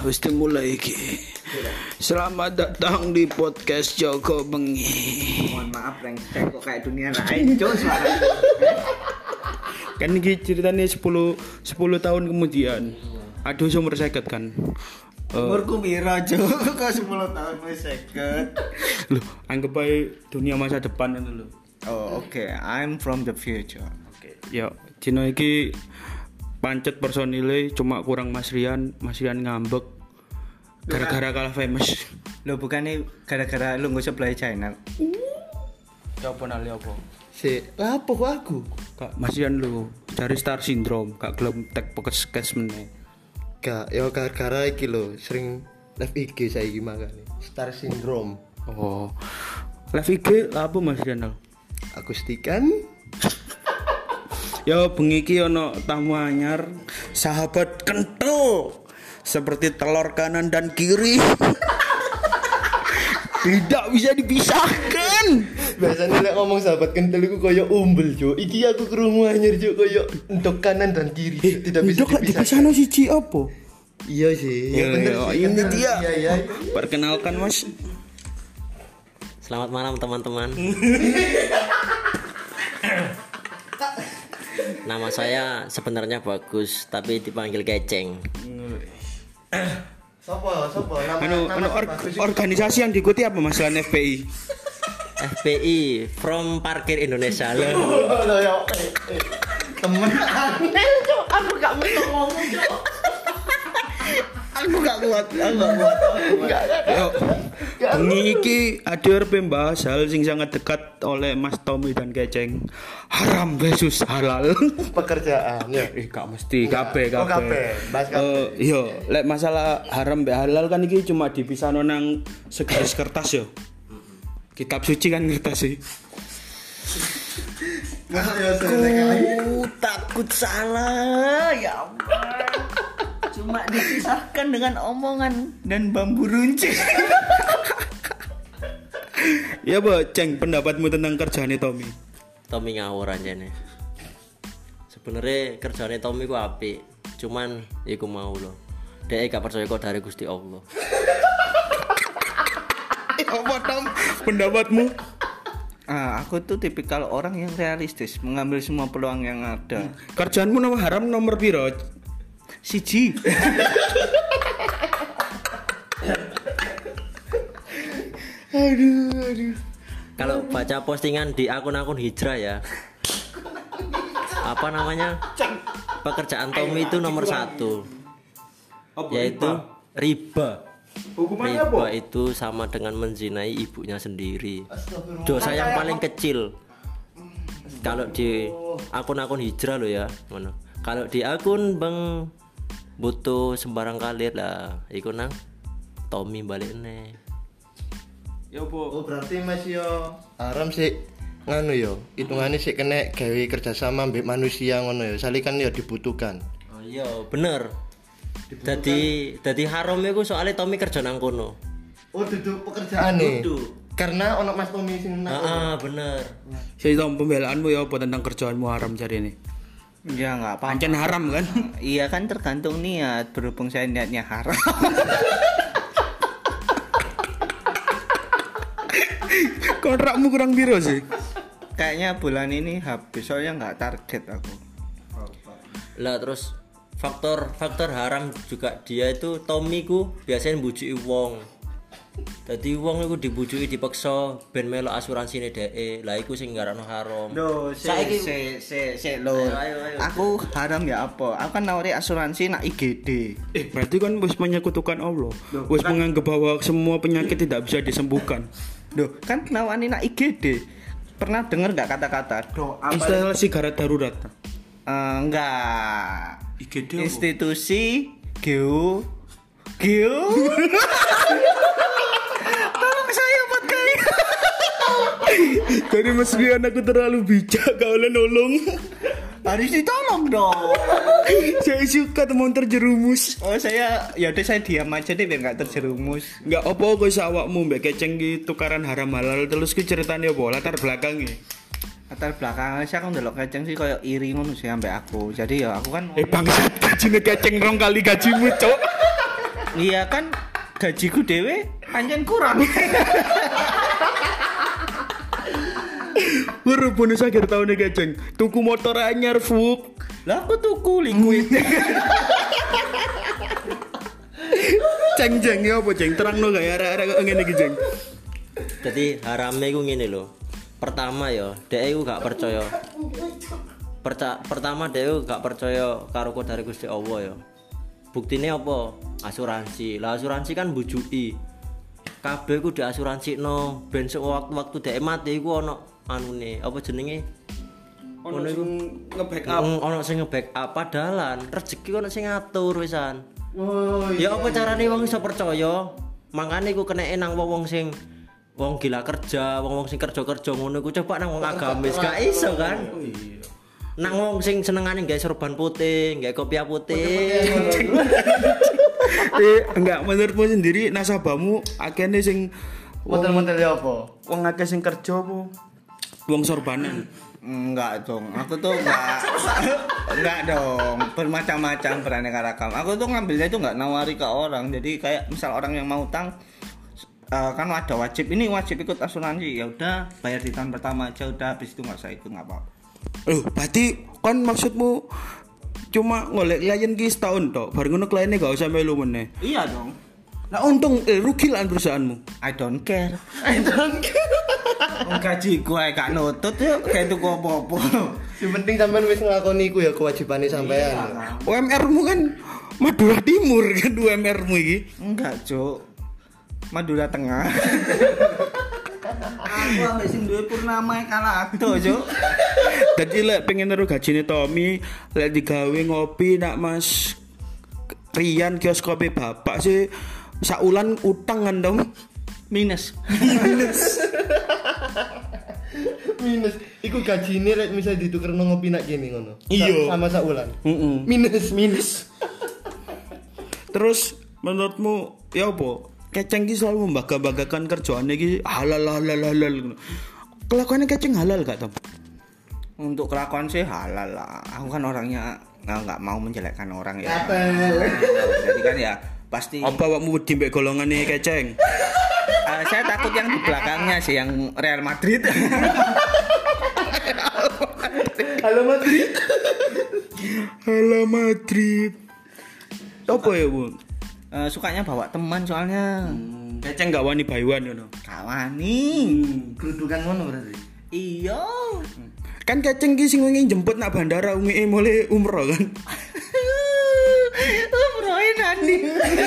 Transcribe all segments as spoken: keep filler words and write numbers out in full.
wis dimulai iki. Selamat datang di podcast Joko Bengi. Mohon maaf rengsek kok kayak dunia lain, Cuk, suara. Kan iki ceritanya sepuluh tahun kemudian. Aduh umur seket kan. Umurku piro, Cuk? Kok sepuluh tahun wis seket. Loh, anggap aja dunia masa depan itu loh. Oh, oke. Okay. I'm from the future. Oke. Okay. Ya, dino iki pancet personile cuma kurang Mas Rian, Mas Rian ngambek gara-gara kalah famous. Lo bukannya gara-gara lu nggak sebelah channel. Ya apa nali apa? Si, lapo kok aku? Kak Mas Rian lu cari star syndrome, gak gelem tek podcast meneh. Gak, ya gara-gara iki lho, sering live I G saiki makane. Star syndrome. Oh. Live I G apa Mas Rian? Akustikan. Ya bengi iki ana tamu anyar, sahabat kental seperti telur kanan dan kiri. Tidak bisa dipisahkan. Biasanya lek ngomong sahabat kental iku koyo umbel, Cuk. Iki aku krungu anyar, Cuk, koyo entuk kanan dan kiri. Eh, tidak bisa dipisahkan. dipisahkan. Dipisahno siji apa? Iya sih. Ya, Ya, bener ya, sih. ini Kenal. dia. Iya, iya. Perkenalkan Mas. Selamat malam teman-teman. Nama saya sebenarnya Bagus, tapi dipanggil Keceng. Sopo? Sopo? Nama Anu, nama anu or- bagus. organisasi yang diikuti apa Mas selain F P I? F P I from Parkir Indonesia loh. Oh, lho, ya. Eh, eh. Temen aneh, Cuk. Aku gak mau ngomong, Cuk. Aku gak kuat, aku gak kuat. Enggak. Yo. Bengi iki ada pembahas hal sing sangat dekat oleh Mas Tommy dan Keceng. Haram versus halal. Pekerjaan ya. Eh gak mesti kabeh Oh, kabeh. kabeh. Bahas kabeh. Eh yo, lek masalah haram mbek halal kan iki cuma dipisahno nang segaris kertas yo. Kitab suci kan kertas sih. Aku takut salah, ya ampun. Cuma dipisahkan dengan omongan dan bambu runcing. Ya, Bo, Ceng, pendapatmu tentang kerjaane Tommy? Tommy ngawur aja nih. Sebenarnya kerjanya Tommy ku apik, cuman iku mau loh. Dia gak percaya kok dari Gusti Allah. Apa Tom? Pendapatmu? Ah, aku tuh tipikal orang yang realistis, mengambil semua peluang yang ada. Kerjaanmu nomor haram nomor piro? Siji. Aduh, aduh. Kalau baca postingan di akun-akun hijrah ya, apa namanya, pekerjaan Tommy itu nomor satu, yaitu riba. Hukumannya Riba itu sama dengan menzinai ibunya sendiri. Dosa yang paling kecil. Kalau di akun-akun hijrah lo ya, mana? Kalau di akun Bang butuh sembarang kalir lah, iku nang Tommy balik nih. Ya, Bo. Oh, berarti Mas yo haram sih nganu yo. Hitungane sik kena gawe kerjasama mbek manusia ngono yo. Sali kan yo dibutuhkan. Oh iya, bener. Jadi jadi haram iku soalnya Tommy kerja nang kono. Oh, duduk pekerjaan nih. Duduk. Karena ono Mas Tommy sing nang. Heeh, bener. Saya tahu pembelaanmu ya apa tentang kerjaanmu haram cari ini. Ya nggak apa. Pancen haram kan? Iya kan tergantung niat. Berhubung saya niatnya haram. Kontrakmu kurang biru sih. Kayaknya bulan ini habis soalnya nggak target aku. Lah terus faktor faktor haram juga dia itu Tommy ku biasanya bujuki wong. Dadi wong iku dibujuki dipaksa ben melo asuransi ne dhek. Lah iku sing ngarakno haram. Loh, se Saiki- se se se lo. Ayo, ayo, ayo. Aku haram ya apa? Aku kan nawari asuransi nak I G D. Eh, berarti kan wis menyekutukan Allah. Loh, Wis kan- menganggap bahwa semua penyakit tidak bisa disembuhkan. Loh, kan nawani nak I G D. Pernah dengar nggak kata-kata doa? Instalasi garda darurat. Eh, enggak. I G D apa? Institusi geo geo. Tolong saya buat kalian. Jadi Mas Rian aku terlalu bijak gak oleh nolong. Harus ditolong dong. Saya suka teman terjerumus. Oh saya, ya udah saya diam aja deh biar nggak terjerumus. Enggak apa kok awakmu mbek Keceng ki tukaran haram halal terus ki ceritane apa latar belakangnya. Latar belakangnya sih aku ndelok Keceng sih kayak iri ngono sih ambek aku. Jadi ya aku kan Eh bangsat gajine Keceng rong kali gajimu, Cok. Iya kan gajiku dhewe pancen kurang. Baru bonus akhir tahun iki, Ceng. Tuku motor anyar, Fuk. Lah aku tuku liquid. Ceng Ceng ya apa, Ceng? Terangno gak ya arek-arek ngene iki, Ceng. Jadi harame ku ngene lho. Pertama ya, dhek iku gak percaya. Perca- pertama dhek iku gak percaya karo kodare Gusti Allah ya. Buktine apa? Asuransi. Lah asuransi kan mbujuki. Kabeh ku diasuransikno ben sewaktu-waktu dhek mati iku ana anune, apa jenenge? Ono sing nge-backup. Mm, ono sing nge-backup padalan, rezeki ono sing ngatur wisan. Oh Ya apa carane wong iso percaya? Makane iku keneke nang wong sing wong gila kerja, wong-wong sing kerja-kerja ngono iku coba nang wong agamis gak iso kan? Nang wong sing senengane gawe sorban putih, gawe kopiah putih. Eh, enggak menurutmu sendiri nasabahmu akehne sing model-model apa? wong akeh sing kerja apa? Wong sorbanan. Enggak dong, aku tuh enggak enggak dong, bermacam-macam beraneka ragam. Aku tuh ngambilnya itu enggak nawari ke orang. Jadi kayak misal orang yang mau utang uh, kan ada wajib ini wajib ikut asuransi, ya udah bayar di tahun pertama aja udah, habis itu enggak usah ikut enggak apa-apa. Loh, berarti kan maksudmu cuma ngolek klien ki setahun tok, baru ngono kliennya gak usah melu meneh. Iya dong. Nah untung eh, rugi lah perusahaanmu. I don't care. I don't care. Gaji gue gak nutut ya kayak itu apa-apa. Yang penting sampean wis nglakoni iku ya kewajibane sampean. U M R-mu kan Madura Timur kan U M R-mu iki. Enggak, Cuk. Madura Tengah. Aku ambek sing duwe purnama kalah ado, Cuk. Dadi lek pengen nero gajine Tommy, lek digawe ngopi nak Mas Rian kios kopi bapak sih saulan utang kan dong. Minus. Minus. Iku gajine lek misal ditukerno ngopi nak kene ngono. Iya. Sama sak wulan. Heeh. Minus minus. Terus menurutmu ya apa? Keceng ki selalu membangga-banggakan kerjaannya ki halal halal halal. Kelakuannya Keceng halal gak, Tom? Untuk kelakuan sih halal lah. Aku kan orangnya nggak nggak mau menjelekkan orang ya. Apel. Jadi kan ya pasti. Apa awakmu wedi mbek golongane Keceng? Uh, saya takut yang di belakangnya sih yang Real Madrid. Halo Madrid. Halo Madrid. Apa ya, Bu? Uh, sukanya bawa teman soalnya. Hmm, Keceng gak wani bayuan ngono. Kawani. Kedudukan ngono berarti. Iya. Kan Keceng ki sing wingi jemput nak bandara umi mulai umroh kan. Umrohe nani.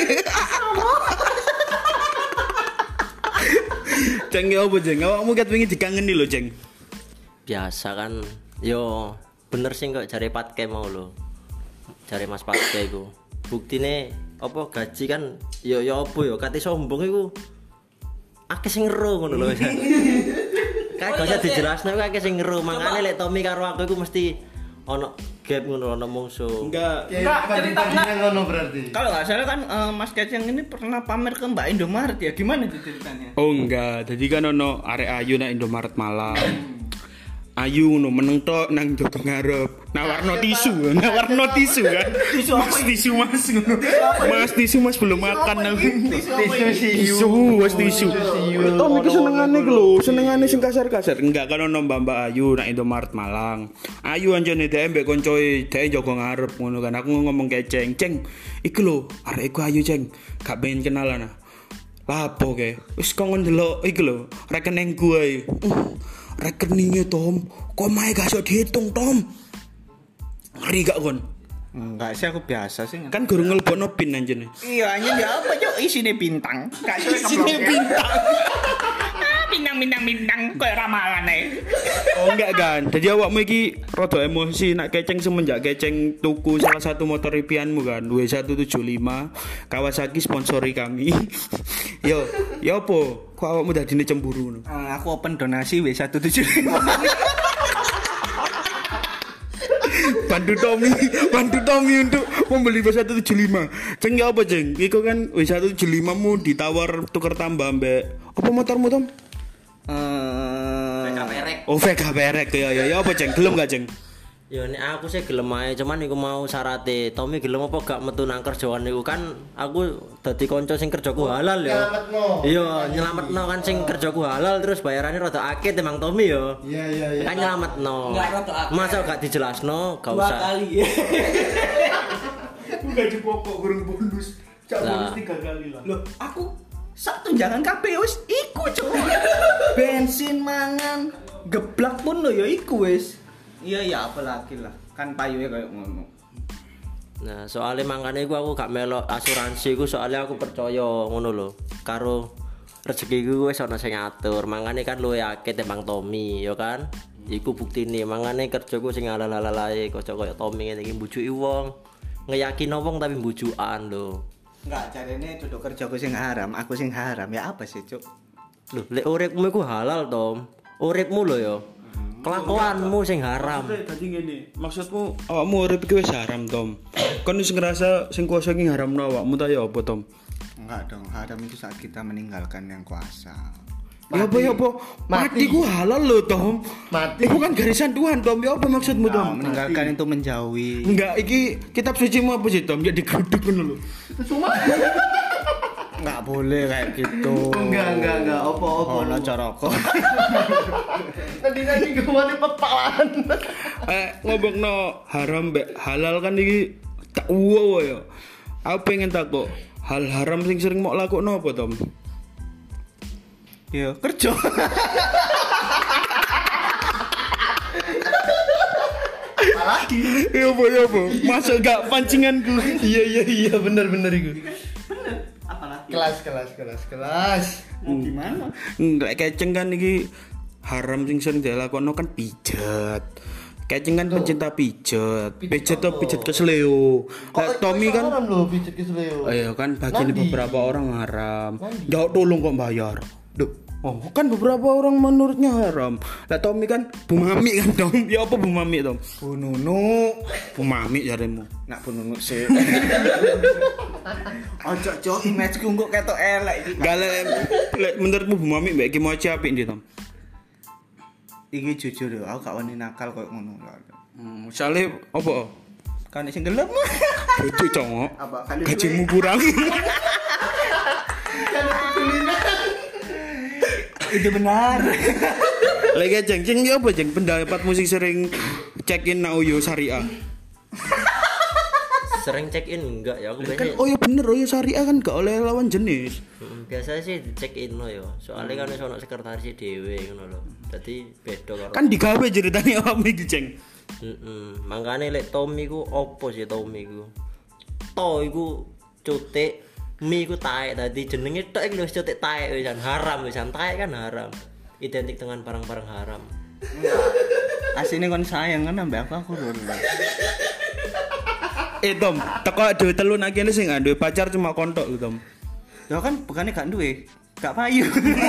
Ceng ya apa, Ceng? Awakmu ket wingi dikangeni lho, Ceng. Biasa kan. Yo bener sih kok jare Patke mau lho. Jare Mas Patke iku. Buktine apa gaji kan yo yo apa yo kate sombong iku akeh sing ngero ngono lho. Kayak gak usah dijelasno iku akeh sing ngero. Mangane lek Tommy karo aku iku mesti ono gap ngono ono mungsuh. Enggak. Enggak, ceritanya ngono berarti. Kalau nggak salah kan uh, Mas Keceng ini pernah pamer ke Mbak Indomaret ya, gimana itu ceritanya? Oh enggak, jadi kan ono arek ayu nak Indomaret Malang. Ayu ngono meneng tok nang jogo ngarep. Nawarno tisu, nawarno tisu kan. Tisu apa? Tisu Mas ngono. Mas tisu Mas belum makan nang. Tisu siu. Tisu, Mas tisu. Tom iki senengane ki lho, senengane sing kasar-kasar. Enggak kan ono Mbak Ayu nak Indomaret Malang. Ayu anjene dhek mbek koncoe, dhek jogo ngarep ngono kan. Aku ngomong Keceng, "Ceng, iki lho arek iku ayu, Ceng. Gak pengen kenalan ah." Lapo ke? Wis kok ndelok iki lho, rekeningku ae. Uh, rekeningnya Tom, kok mae gak iso dihitung, Tom. Ngeri gak kon? Enggak sih, aku biasa sih. Kan guru ngelebokno pin anjene. Iya, anjing ya apa cuk isine bintang. Gak iso Isine bintang. Ah, bintang bintang bintang koyo ramalan ae. Oh enggak kan. Jadi awakmu iki rada emosi nak Keceng semenjak Keceng tuku salah satu motor impianmu kan, W seratus tujuh puluh lima Kawasaki sponsori kami. Yo, yo apa? Kok awakmu dadine cemburu ngono? Uh, aku open donasi W seratus tujuh puluh lima. Bantu Tommy, bantu Tommy untuk membeli W seratus tujuh puluh lima. Ceng ya apa, Ceng? Iku kan W seratus tujuh puluh lima mu ditawar tuker tambah mbek apa motormu, Tom? Eh, Perek. Oh, Vega perek ya ya ya apa, Ceng? Gelem gak, Ceng? Ya nek aku sih gelem ae, cuman iku mau syarate. Tommy gelem apa gak metu nang kerjaan niku kan aku dadi kanca sing kerjaku halal ya. Nyelametno. Iya, nyelametno kan sing kerjaku halal terus bayarannya rada akeh timbang Tommy ya. Iya iya iya. Kan nyelametno. Enggak rada akeh. Masa gak dijelasno, gak Dua usah. kali. Aku gaji pokok kurang bonus. Cak bonus Lah. tiga kali lah. Loh, aku sak tunjangan K P wis iku, Cuk. Bensin mangan, geblak pun lo ya iku wis. Iya ya apalagi lah. Kan payuhe kayak ngono. Nah, soalnya makanya iku aku gak melok asuransi iku soalnya aku percaya ngono lho. Karo rezekiku wis ana sing ngatur. Mangane kan luwe akeh timbang Tommy, ya kan? Iku buktine mangane kerjaku sing ala-ala ae kaya kaya Tommy ngene iki mbujuki wong. Ngeyakino wong tapi mbujukan lho. Enggak, jarene duduk kerjaku sing haram, aku sing haram. Ya apa sih, Cuk? Lho, lek uripmu iku halal, Tom. Uripmu lho ya. Kelakuanmu sing haram. Maksudnya tadi ngene, maksudmu awakmu urip iki wis haram, Tom. Kon wis ngerasa sing kuasa iki haramno awakmu ta ya apa, Tom? Enggak dong, haram itu saat kita meninggalkan yang kuasa. Ya apa ya apa? Mati ku halal lho, Tom. Mati. Iku kan garisan Tuhan, Tom. Ya apa maksudmu, Nah, Tom? meninggalkan itu menjauhi. Enggak, iki kitab suci mu apa sih, Tom? Ya digeruduk ngono lho. Enggak boleh kayak gitu. Enggak enggak enggak apa-apa. Ono coroko. Tadi-tadi gimana pepalan. Eh, ngomongno haram mbek halal kan iki tak uwo ya. Aku pengen takut hal haram sing sering mau lakokno apa, Tom? Ya, kerja. Lagi. Ya apa ya apa? Masuk gak pancinganku. Iya iya iya bener bener iku. Apalagi? Kelas kelas kelas kelas. Mau gimana? Enggak keceng kan iki haram sing sering dilakokno kan pijet. Keceng kan pencinta pijet. Pijet tuh pijet kesleo. Lah Tommy kan haram lho pijet kesleo. oh iya kan bagi Nandi? beberapa orang haram. Jauh tolong kok bayar. Duh. Oh, kan beberapa orang menurutnya haram. Lah Tommy kan Bu Mami kan, Tom. Ya apa Bu Mami, Tom? Bu Nunu. Bu Mami jaremu. Nak Bu Nunu sih. Ojo cok image ku kok ketok elek iki. Gak lek lek menurutmu Bu Mami mbek iki moci apik ndi, Tom? Iki jujur yo, aku gak wani nakal koyo ngono. Hmm, misale apa? Kan sing gelem. Itu congok. Apa kan Gajimu kurang. itu benar. Lagi jeng jeng ya apa jeng pendapat musik sering check in na Uyo Syariah. Sering check in enggak ya aku Kan biasanya. oh ya bener Uyo Syariah kan gak oleh lawan jenis. Mm, biasanya sih check in lo ya. Soalnya kan wis ono sekretaris dhewe ngono lho. Dadi beda karo. Kan digawe ceritane awakmu iki jeng. Heeh. Mangkane lek Tommy ku opo sih Tommy ku? To iku cutik, mi ku taek dadi jenenge tok iki lho wis cutik taek wisan haram wisan taek kan haram. Identik dengan barang-barang haram. Asine kon sayang kan ambek aku aku lho. Eh Tom, teko dhewe telu nak kene sing duwe pacar cuma kontok lho Tom. Ya kan bukannya gak duwe, gak payu.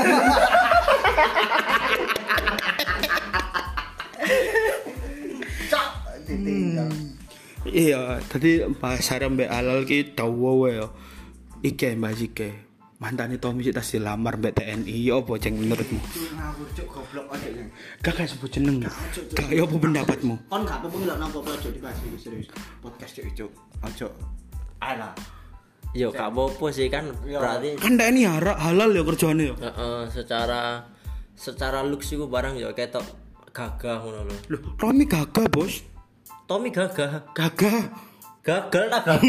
Iya, tadi bahas haram mbek halal ki dawa wae ya. Iki Mbak Zike. Mantane Tommy sik tas dilamar mbek T N I ya apa jeng menurutmu? Ngawur cuk goblok aja yang. Kakak sebut jeneng. Gak ya apa pendapatmu? Kon gak apa-apa ngelok nang apa aja dibahas iki serius. Podcast cuk cuk. Ojo. Alah. Yo gak apa-apa sih kan berarti Kan T N I hara- halal ya kerjaane ya. heeh secara secara looks iku barang ya ketok gagah ngono lho. Loh, Tommy gagah, Bos. Tommy gagah. Gagah. Gagal tak gagah.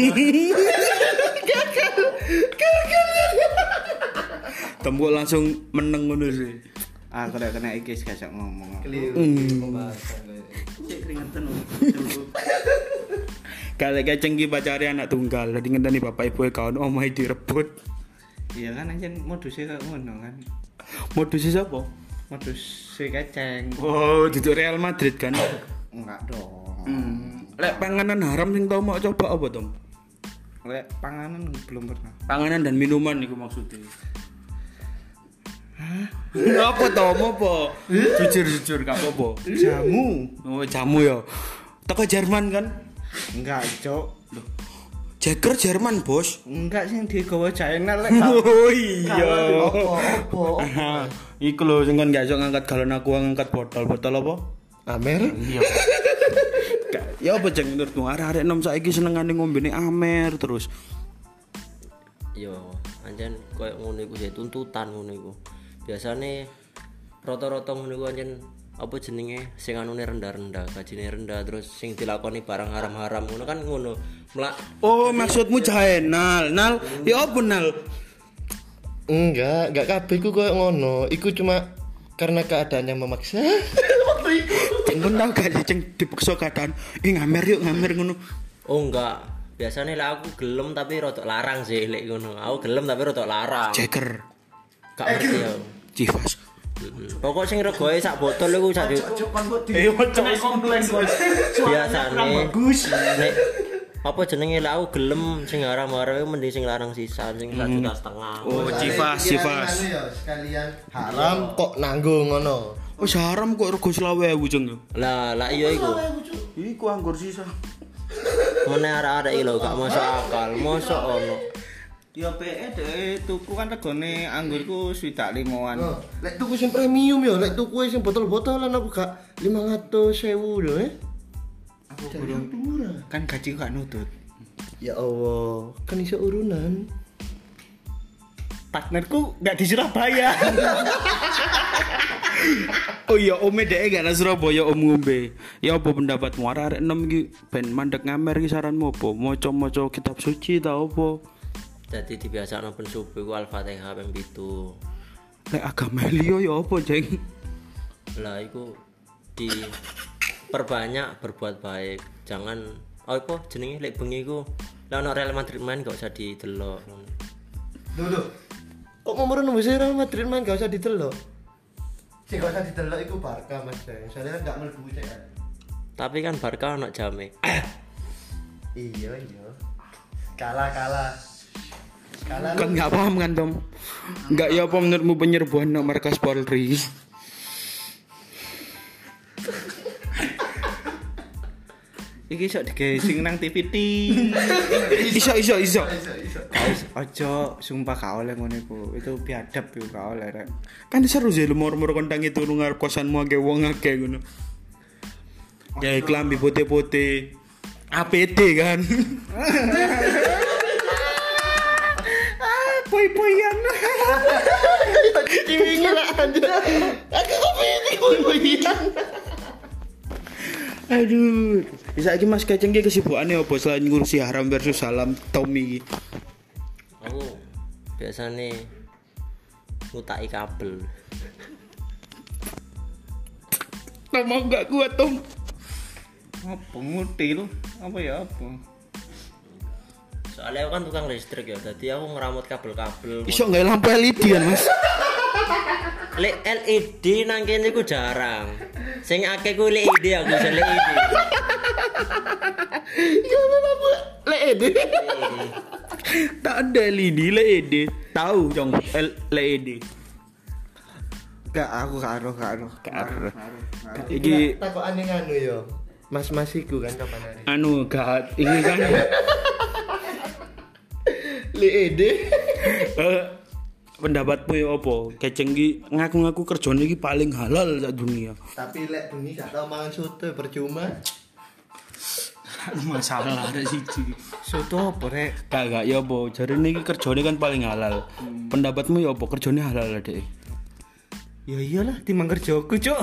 Tembok langsung meneng ngono sih. Ah kalau kena iki gak sok ngomong. Cek keringetan. Kalau keceng ki pacare anak tunggal, dadi ngenteni bapak ibu e kaon omahe direbut. Iya kan anjen modusnya kayak ngono kan. Modusnya siapa? Modus si keceng. Oh, duduk Real Madrid kan. Enggak dong. Hmm. Lek panganan haram sing tau mau coba apa, Tom? Lek panganan belum pernah. Panganan dan minuman iku maksudnya. Hah? Apa Tom apa? Jujur-jujur gak apa-apa. Jamu. Oh, jamu ya. Teko Jerman kan? Enggak, Cok. Jagger Jerman, Bos. Enggak sih digawa China lek. Oh iya. Apa-apa. Aha, iku lho sing kon gak iso ngangkat galon aku ngangkat botol. Botol apa? Amer. Iya. Ya apa Ceng menurutmu arek-arek nom saiki senengane ngombene Amer terus. Yo, anjen koyo ngono iku sih tuntutan ngono iku. Biasane rata-rata ngono iku anjen apa jenenge sing anune rendah-rendah, gajine rendah terus sing dilakoni barang haram-haram ngono kan ngono. Mlak. Oh, maksudmu jahe nal. Nal, ya apa nal? Enggak, enggak kabeh ku koyo ngono. Iku cuma karena keadaan yang memaksa. Ceng kon tau gak sih Ceng dipaksa keadaan eh ngamer yuk ngamer ngono. Oh enggak. Biasanya lah aku gelem tapi rodok larang sih lek ngono. Aku gelem tapi rodok larang. Ceker. Gak ngerti ya. Civas. Pokok sing regoe sak botol iku sak Eh ojo komplain bos. biasane nek apa jenenge lah aku gelem sing haram-haram iku mending sing larang sisa sing sak juta setengah. Oh, Civas, Civas. Sekalian haram kok nanggung ngono. Oh, haram kok rego selawe ewu Ceng. Lah lah iya iku. Iku anggur sisa. Mene arek-arek iki lho gak masuk akal, mosok ono. Ya P E deh tuku kan regane anggurku swidak limoan. Oh, lek tuku sing premium ya, lek tuku sing botol-botolan aku gak lima ratus ribu lho eh. Aku burung murah. Kan gaji gak nutut. Ya Allah, kan iso urunan. Partnerku gak di Surabaya. Oh iya, ome dhek gak nang Surabaya om ngombe. Ya apa pendapatmu arek enom iki ben mandek ngamer iki saranmu apa? Maca-maca kitab suci ta apa? Jadi dibiasakno ben subuh iku Al-Fatihah ping pitu. Lek agama liya ya apa, Ceng? Lah iku di perbanyak berbuat baik. Jangan oh apa jenenge lek bengi iku lah ono Real Madrid main gak usah didelok. Lho lho. Kok ngomong nang Real Madrid main gak usah didelok. Sing gak usah didelok iku Barca Mas. Soalnya kan gak mlebu cek kan. Tapi kan Barca ono jame. Iya iya. Kalah kalah. Kalah. Kan gak paham kan, Tom? Enggak ya apa menurutmu penyerbuan nang markas Polri? Iki iso digawe sing nang T V T. Iso iso iso. Guys, ojo sumpah gak oleh ngono iku. Itu biadab yo gak oleh rek. Kan seru sih lumur-lumur kondang itu lu ngarep kosanmu akeh wong akeh ngono. Ya klambi putih-putih. A P D kan. Poi-poian. Ini lah aja. Aku kepikir boy-boyan. Aduh. Bisa iki Mas Keceng iki kesibukane apa selain ngurusi haram versus salam Tommy iki? Aku biasane ngutaki kabel. Tom mau gak kuat Tom. Apa nguti lu? Apa ya apa? Soalnya aku kan tukang listrik ya, jadi aku ngeramut kabel-kabel. Iso gak lampu L E D kan Mas? Le L E D nang kene ku jarang. Sing akeh ku L E D aku bisa L E D. Ya lampu L E D. Tak ada L E D, L E D. Tahu Jong L E D. Gak aku karo karo. Karo. Iki Takokane nganu yo. Mas-mas iku kan kapan hari? anu gak ini kan L E D. eh, pendapatmu ya apa? Keceng iki ngaku-ngaku kerjane iki paling halal sak dunia. Tapi lek bengi gak tau mangan soto percuma. Masalah ada siji. Soto apa rek? Gak gak ya apa? Jarine iki kerjane kan paling halal. Pendapatmu ya apa? Kerjane halal Dek? Ya iyalah timbang kerjaku, Cuk.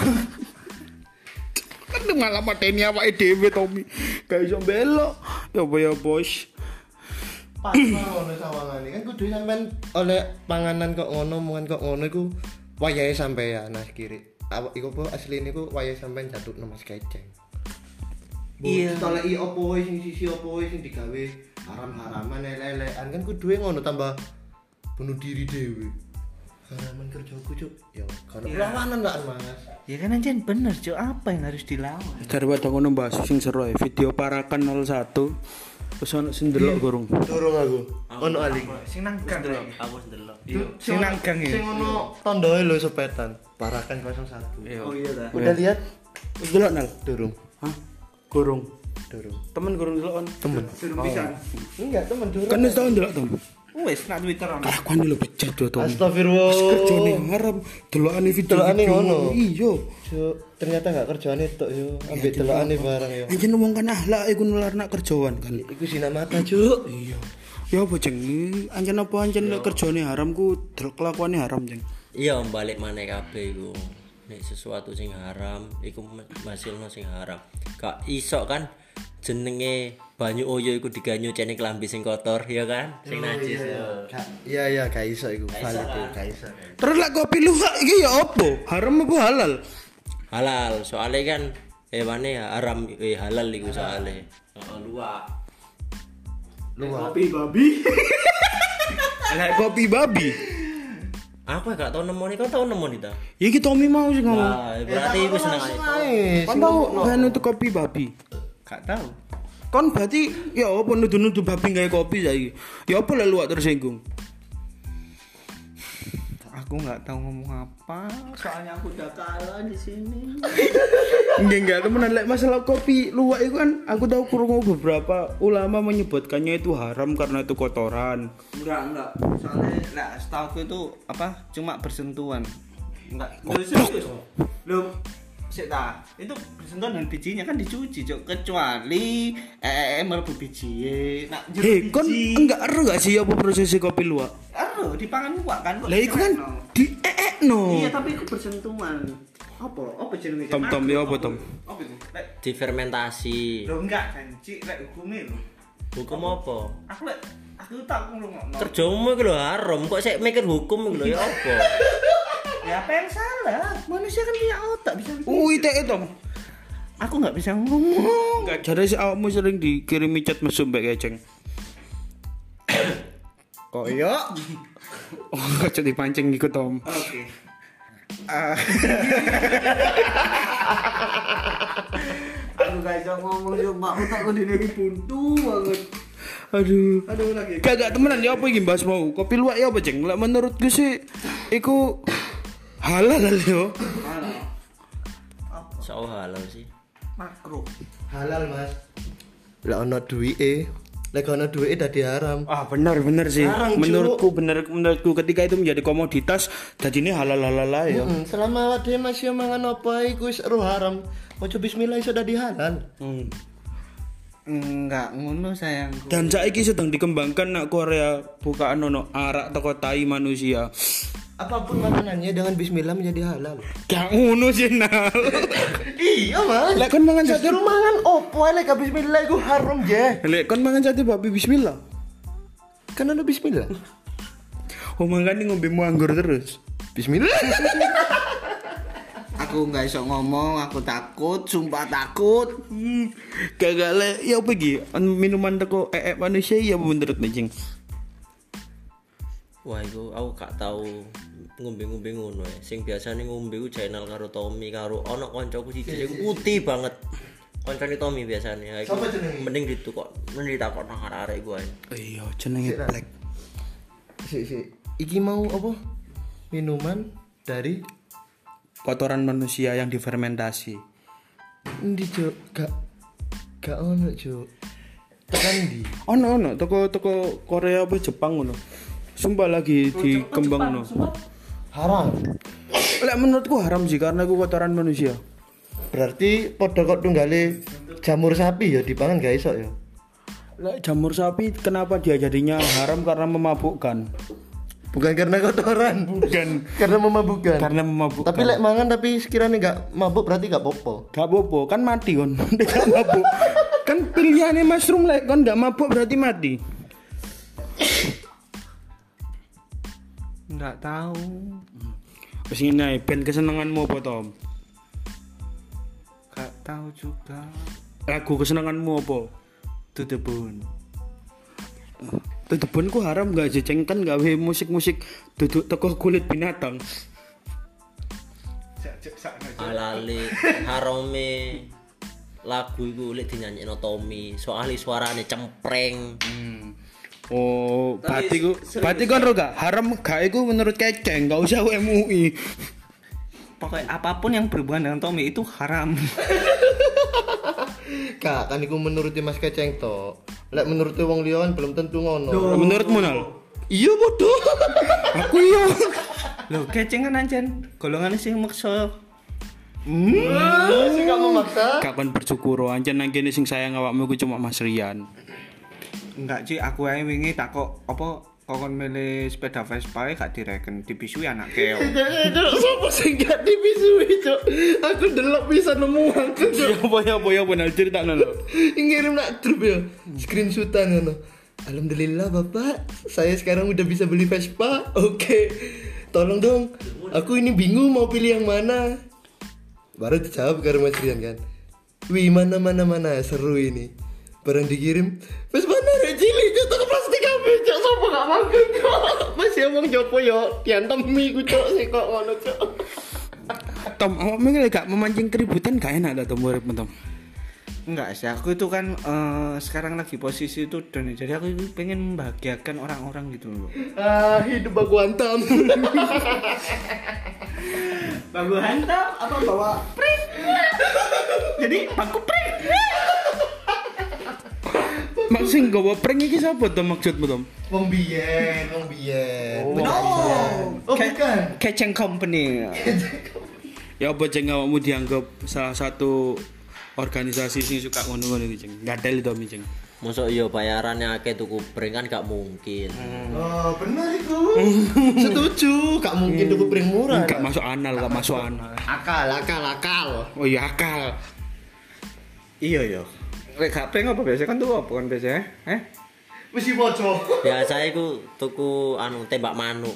Kan malah mateni awake dhewe Tommy. Gak iso belok. Ya apa ya, Bos? Pas ngono sawangane kan kudu sampean oleh panganan kok ngono, mangan kok ngono iku wayahe sampean Mas Kiri. Awak iku apa asline iku wayahe sampean jatuhno Mas Keceng. Iya. Toleki opo wae sing sisi opo wae sing digawe haram-haraman elek-elekan kan kudu ngono tambah bunuh diri dhewe. Haraman kerjaku Cuk. Ya kan perlawanan lah Mas. Ya kan anjen bener, Cuk. Apa yang harus dilawan? Daripada ngono bahas sing seru ae. Video parakan nol satu. Terus ono sing ndelok gorong. Durung aku. Ono ali. Sing nang gang. Aku ndelok. Sing nang gang Sing ya. ono tondoe lho sepetan. Parakan nol satu. Oh iya ta. Udah lihat? Wis delok nal. Durung. Hah? Gorong. Durung. Temen gorong delok on. Temen. Durung pisan. Enggak, temen durung. Kan wis tau ndelok Tom. Wes nak Twitter ono. Kelakuan lho bejat do Tom. Astagfirullah. Kerjane haram, delokane video. Delokane ngono. Iya. Cuk, ternyata gak kerjane tok yo, ambek delokane barang yo. Anjen wong kan akhlak iku nular nak kerjaan kan. Iku zina mata, Cuk. Iya. Ya apa jeng? Anjen apa anjen lek kerjane haram ku del kelakuane haram jeng. Iya balik maneh kabeh iku. Nek sesuatu sing haram iku hasilno sing haram. Gak iso kan jenenge banyu oyo iku diganyu cene kelambi sing kotor ya kan sing najis yo. Iya iya gak iso iku valid iku gak iso. Terus lek kopi luwak iki ya apa? Haram apa halal? Halal soalnya kan hewane haram eh halal iku soalnya. Heeh luwak. Luwak. Kopi babi. Lek kopi babi. Aku gak tau nemoni, kau tau nemoni ta? Ya iki Tommy mau sih ngomong. Nah, berarti iku seneng ae. Kan tau kan itu kopi babi. Gak tahu. Kon berarti ya apa nuduh-nuduh babi gawe kopi saiki. Ya apa lek luwak tersinggung. Aku nggak tahu ngomong apa, soalnya aku udah kalah di sini. Enggak enggak temenan lek masalah kopi luwak itu kan aku tahu krungu beberapa ulama menyebutkannya itu haram karena itu kotoran. Enggak, enggak. Soalnya nah, setahu aku itu apa? Cuma bersentuhan. Enggak. Belum sik ta. Itu bersentuhan dengan bijinya kan dicuci, Cok. Kecuali eh mlebu biji. Nah, Hei, kon enggak ero enggak sih apa proses kopi luwak? Ero dipangan luwak kan kok. Lah iku kan diekno. Iya, tapi itu bersentuhan. Apa? Apa jenenge? Tom Tom ya apa Tom? Apa itu? Lek Difermentasi. lho enggak kan, Cik, lek hukume lho. Hukum apa? Aku lek aku tak ngomong. Kerjamu iku lho haram, kok sik mikir hukum iku lho ya apa? Ya apa yang salah? Manusia kan punya otak bisa mikir. Ui teh Tom. Aku nggak bisa ngomong. Enggak jare si awakmu sering dikirimi chat mesum mbek keceng. Koyo. Oh, aja dipancing iku Tom. Oke. Ah. Aku gak bisa ngomong cuma otakku dini buntu banget. Aduh. Aduh lagi. Kagak temenan ya apa iki bahas mau? Kopi luwak ya apa, Ceng? Lek menurutku sih iku halal yo. So halal sih. Makro. Halal, Mas. Lah ono duwike. Lek ono duwike dadi haram. Ah benar benar sih. Larang, Cuk. Menurutku benar menurutku ketika itu menjadi komoditas dadine halal-halal ae ya. Hmm, selama awake dhewe masih mangan apa iku wis ero haram. Ojo bismillah iso dadi halal. Hmm. Enggak ngono sayangku. Dan saiki sedang dikembangkan nak Korea bukaan ono arak teko tai manusia. Apapun makanannya dengan bismillah menjadi halal. Gak ngono sih Nal. Iya, Mas. Lek kon mangan sate Justru mangan opo lek gak bismillah iku haram je. Lek kon mangan sate babi bismillah. Kan ono bismillah. Oh mangkane ngombe mu anggur terus. Bismillah. Aku nggak iso ngomong, aku takut, sumpah takut. Hmm. Kagak lek ya apa iki? Minuman teko ee manusia ya menurut Ceng. Wah iku aku gak tau ngombe-ngombe ngono ya. Sing biasane ngombe ku channel karo Tommy karo ana kancaku siji sing putih banget. Kancane Tommy biasane. Iku Sopo jenenge? mending ditukok, mending ditakok nang arek-arek iku ae. Iya, jenenge Black. Si si. Iki mau apa? Minuman dari Kotoran manusia yang difermentasi. endi, Cuk? Gak gak ono, Cuk. Tekan ndi? Ono ono toko toko Korea apa Jepang ngono. Sumpah lagi dikembangno. Haram. Lek menurutku haram sih karena itu kotoran manusia. Berarti padha kok tunggale jamur sapi ya dipangan gak iso ya. Lek jamur sapi kenapa dia jadinya haram karena memabukkan? Bukan karena kotoran, Bukan karena memabukkan. karena memabukkan. Tapi lek mangan tapi sekiranya gak mabuk berarti gak popo. gak popo kan mati kon. Gak mabuk. Kan pilihannya mushroom lek kon gak mabuk berarti mati. Nggak tahu. Wis ngene ae, ben kesenenganmu apa Tom? Nggak tahu juga. Lagu kesenanganmu apa? Tutupun. Tetepun ku haram gak sih Ceng kan gawe musik-musik duduk teko kulit binatang. Alale harame lagu iku lek dinyanyekno Tommy, soalnya suarane cempreng. Hmm. Oh, berarti Tapi ku serius. berarti kan ro gak haram gak iku menurut Keceng, gak usah M U I. Pokoknya apapun yang berhubungan dengan Tommy itu haram. Kak, kan iku menuruti Mas Keceng to. Lek menuruti wong liya kan belum tentu ngono. Menurutmu Nal? Iya bodoh. Aku iya. Loh, keceng kan anjen golongan sing maksa. Hmm, sing gak memaksa. Gak kon bersyukur ancen nang kene sing sayang awakmu ku cuma Mas Rian. Enggak, Ci, aku ae wingi takok apa kokon milih sepeda Vespa gak direken dibisui anak keo. Cok, sopo sing gak dibisui, Cok? Aku delok bisa nemu aku, Cok. Ya apa ya apa ya benar critakno lho. Ngirim nak grup ya. Screenshotan ngono. Alhamdulillah Bapak, saya sekarang udah bisa beli Vespa. Oke. Tolong dong. Aku ini bingung mau pilih yang mana. Baru dijawab karo Mas Rian kan. Wih, mana mana mana seru ini. Barang dikirim, Vespa narek cilik Cok, toko plastik kabeh, Cok. Sopo gak mangkel, Cok. Masih omong jopo yo, diantemi ku, Cok, sik kok ngono, Cok. Tom, awakmu iki gak memancing keributan gak enak ta Tom urip Tom. Enggak sih, aku itu kan eh, sekarang lagi posisi itu dan jadi aku itu pengen membahagiakan orang-orang gitu loh. Ah, hidup bagu hantam. Bagu hantam apa bawa pring? Jadi baku pring. Maksud gawa prank iki sapa to maksudmu Tom? Wong biyen, wong biyen. Oh, Oh, bukan. Keceng company. Ya apa jeng awakmu dianggap salah satu organisasi sing suka ngono-ngono iki jeng. Gadel to jeng. Mosok iya bayarannya akeh tuku pring kan gak mungkin. Oh, benar itu. Setuju, gak mungkin tuku pring murah. Gak masuk anal, gak masuk anal. Akal, akal, akal. Oh iya akal. Iya yo. Lek gak pring apa biasa kan tuh apa kan biasa eh? Mesti boco. Biasa iku tuku anu tembak manuk.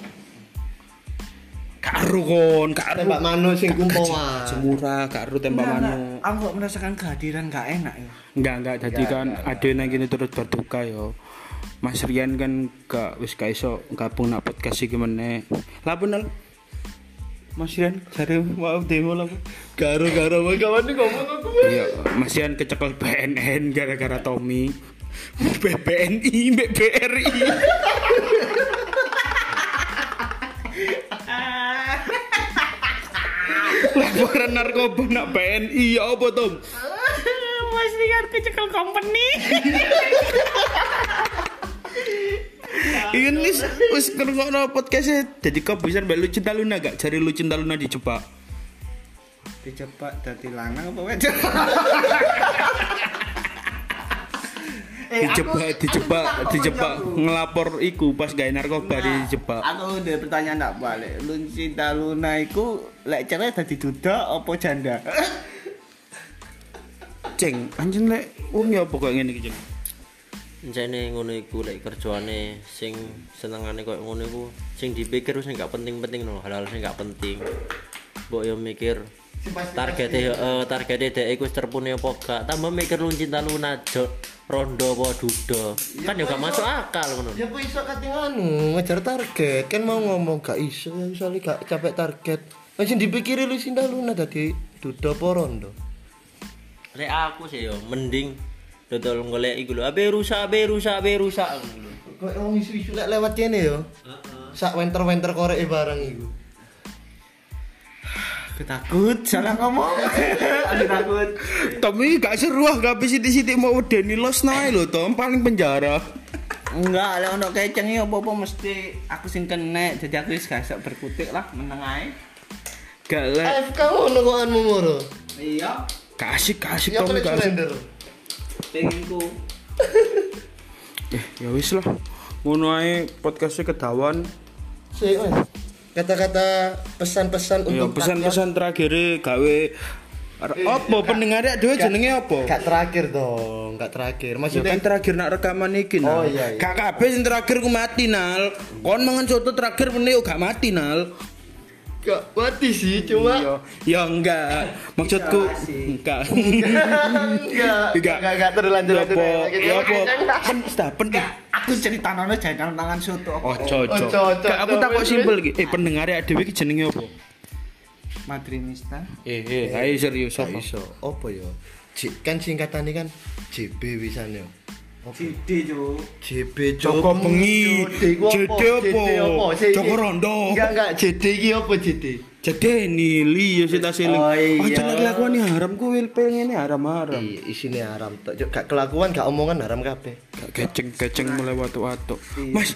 Karo kon, karo Tembak manuk sing kumpoan. semurah, karo tembak manuk. Aku kok merasakan kehadiran gak enak ya. Enggak, enggak jadi kan ade nang kene turut berduka yo. Mas Rian kan gak wis gak iso gabung nak podcast iki meneh. Lah bener. Mas Rian jare mau demo lah. Garo-garo kawan ngomong aku. Iya, Mas Rian kecekel B N N gara-gara Tommy. B B N I, B B R I. Laporan narkoba nak B N I ya apa Tom? Mas Rian kecekel company. Ingin wis wis ngrungokno podcast jadi kau bisa mbak lu cinta Luna gak? Cari lu cinta Luna dijebak. Dijebak dadi lanang apa wedok? Dijebak, dijebak, dijebak ngelapor iku pas gawe narkoba dijebak. Aku udah pertanyaan tak balik. Lu cinta Luna iku lek cerai dadi duda apa janda? Ceng, anjen lek wong ya apa kok ngene iki, Ceng? Encene ngono iku lek kerjaane sing senengane koyo ngono iku sing dipikir sing gak penting-penting no, hal-hal sing gak penting. Mbok yo mikir targete heeh targete dhek iku terpune apa gak, tambah mikir lu cinta Luna jok rondo apa duda. Kan yo gak masuk akal ngono. Ya apa iso kate anu ngejar target kan mau ngomong gak iso ya soalnya gak capek target. Langsung dipikirin lu Cinta Luna tadi duda apa rondo. Lek aku sih yo mending dodol golek iku lho, abe rusak, abe rusak, abe rusak ngono lho. Kok wong isu-isu lek lewat kene yo. Heeh. Sak wenter-wenter korek barang iku. Aku takut salah ngomong. Aku takut. Tommy gak seru ah, gak sithik-sithik mau wedeni los nae lho, Tom, paling penjara. Enggak, lek ono keceng iki apa-apa mesti aku sing kena. Jadi aku wis gak iso berkutik lah, meneng ae. Gak lek. A F K ngono kok anmu moro. Iya, Gak asik, gak asik Ya Tommy play gak asik. surrender. penginku. Eh, ya wis lah. Ngono ae podcastnya kedawan. Sik, Mas. Kata-kata pesan-pesan Ya untuk pesan-pesan terakhir gawe apa pendengarnya dhewe jenenge apa? Gak terakhir dong, gak terakhir. Ya Maksudnya kan terakhir nak rekaman iki Oh, Nal. iya, iya. Gak kabeh sing terakhir ku mati Nal. Kon mangan soto terakhir meneh yo gak mati Nal. gak mati sih, cuma Iya. Ya enggak. Maksudku enggak. enggak, Enggak. enggak, enggak terlanjur Ya apa? Ya apa? Enggak. Pen sta pen. Aku cerita nono jajan tangan soto. Ojo ojo. Ojo, ojo, Gak, aku ojo, takok wis, simpel iki. Eh pendengar dhewe iki jenenge apa? Madrinista. Eh eh ayo serius Gak apa? iso, apa ya? J- kan singkatannya kan J B wisan yo. Cidi jo. J B Joko bengi. J D J D apa? Joko Rondo. Enggak enggak J D iki apa J D? Jadi nili ya sita siling. Oh, iya. Aja lagi lakuan haram ku wil pengen haram-haram. Iya, isine haram tok. Cuk, gak kelakuan, gak omongan haram kabeh. Gak keceng-keceng mulai watu-watu. Mas,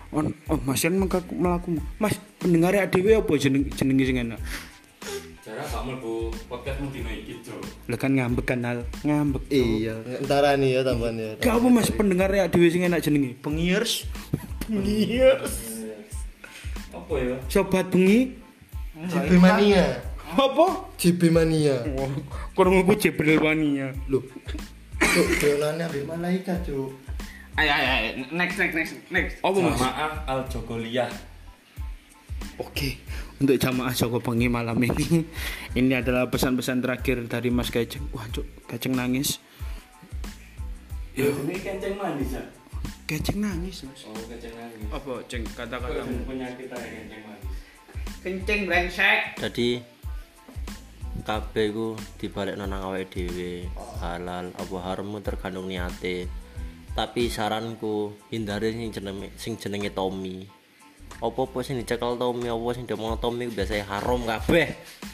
On, oh Mas kan mengkaku melaku. Mas pendengar dhewe apa jeneng jenenge sing enak? Cara gak mlebu podcastmu dino iki, Cuk. Lah kan ngambek kan Al, ngambek. Cuk. Iya, entar nih ya tambahan ya. Gak apa Mas pendengar dhewe sing enak jenenge? Pengirs. Pengirs. Apa ya? Sobat bengi. J B Mania. Apa? J B Mania. Wah, kurang aku Jibril Mania. Loh. Cuk, donane ambek malaikat, Cuk. Ayo ayo ayo next next next next. Apa Mas? Jamaah Al Jogoliyah. Oke, untuk jamaah Joko Bengi malam ini, ini adalah pesan-pesan terakhir dari Mas Keceng. Wah, Cuk, Keceng nangis. Ya, ini kenceng manis ya. Keceng nangis, Mas. Oh, kenceng manis. Apa, Ceng, kata-katamu? Kok penyakit aja kenceng manis. Kencing brengsek. Jadi kabeh ku dibalik nang awake dhewe. Halal apa harammu tergantung niate. Tapi saranku hindari sing jenenge sing jenenge Tommy. Apa-apa sing dicekel Tommy, apa sing diomong Tommy biasanya haram kabeh.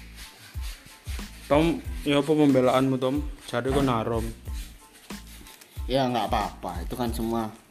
Tom, ya apa pembelaanmu, Tom? Jadi kok haram. Ya nggak apa-apa, itu kan semua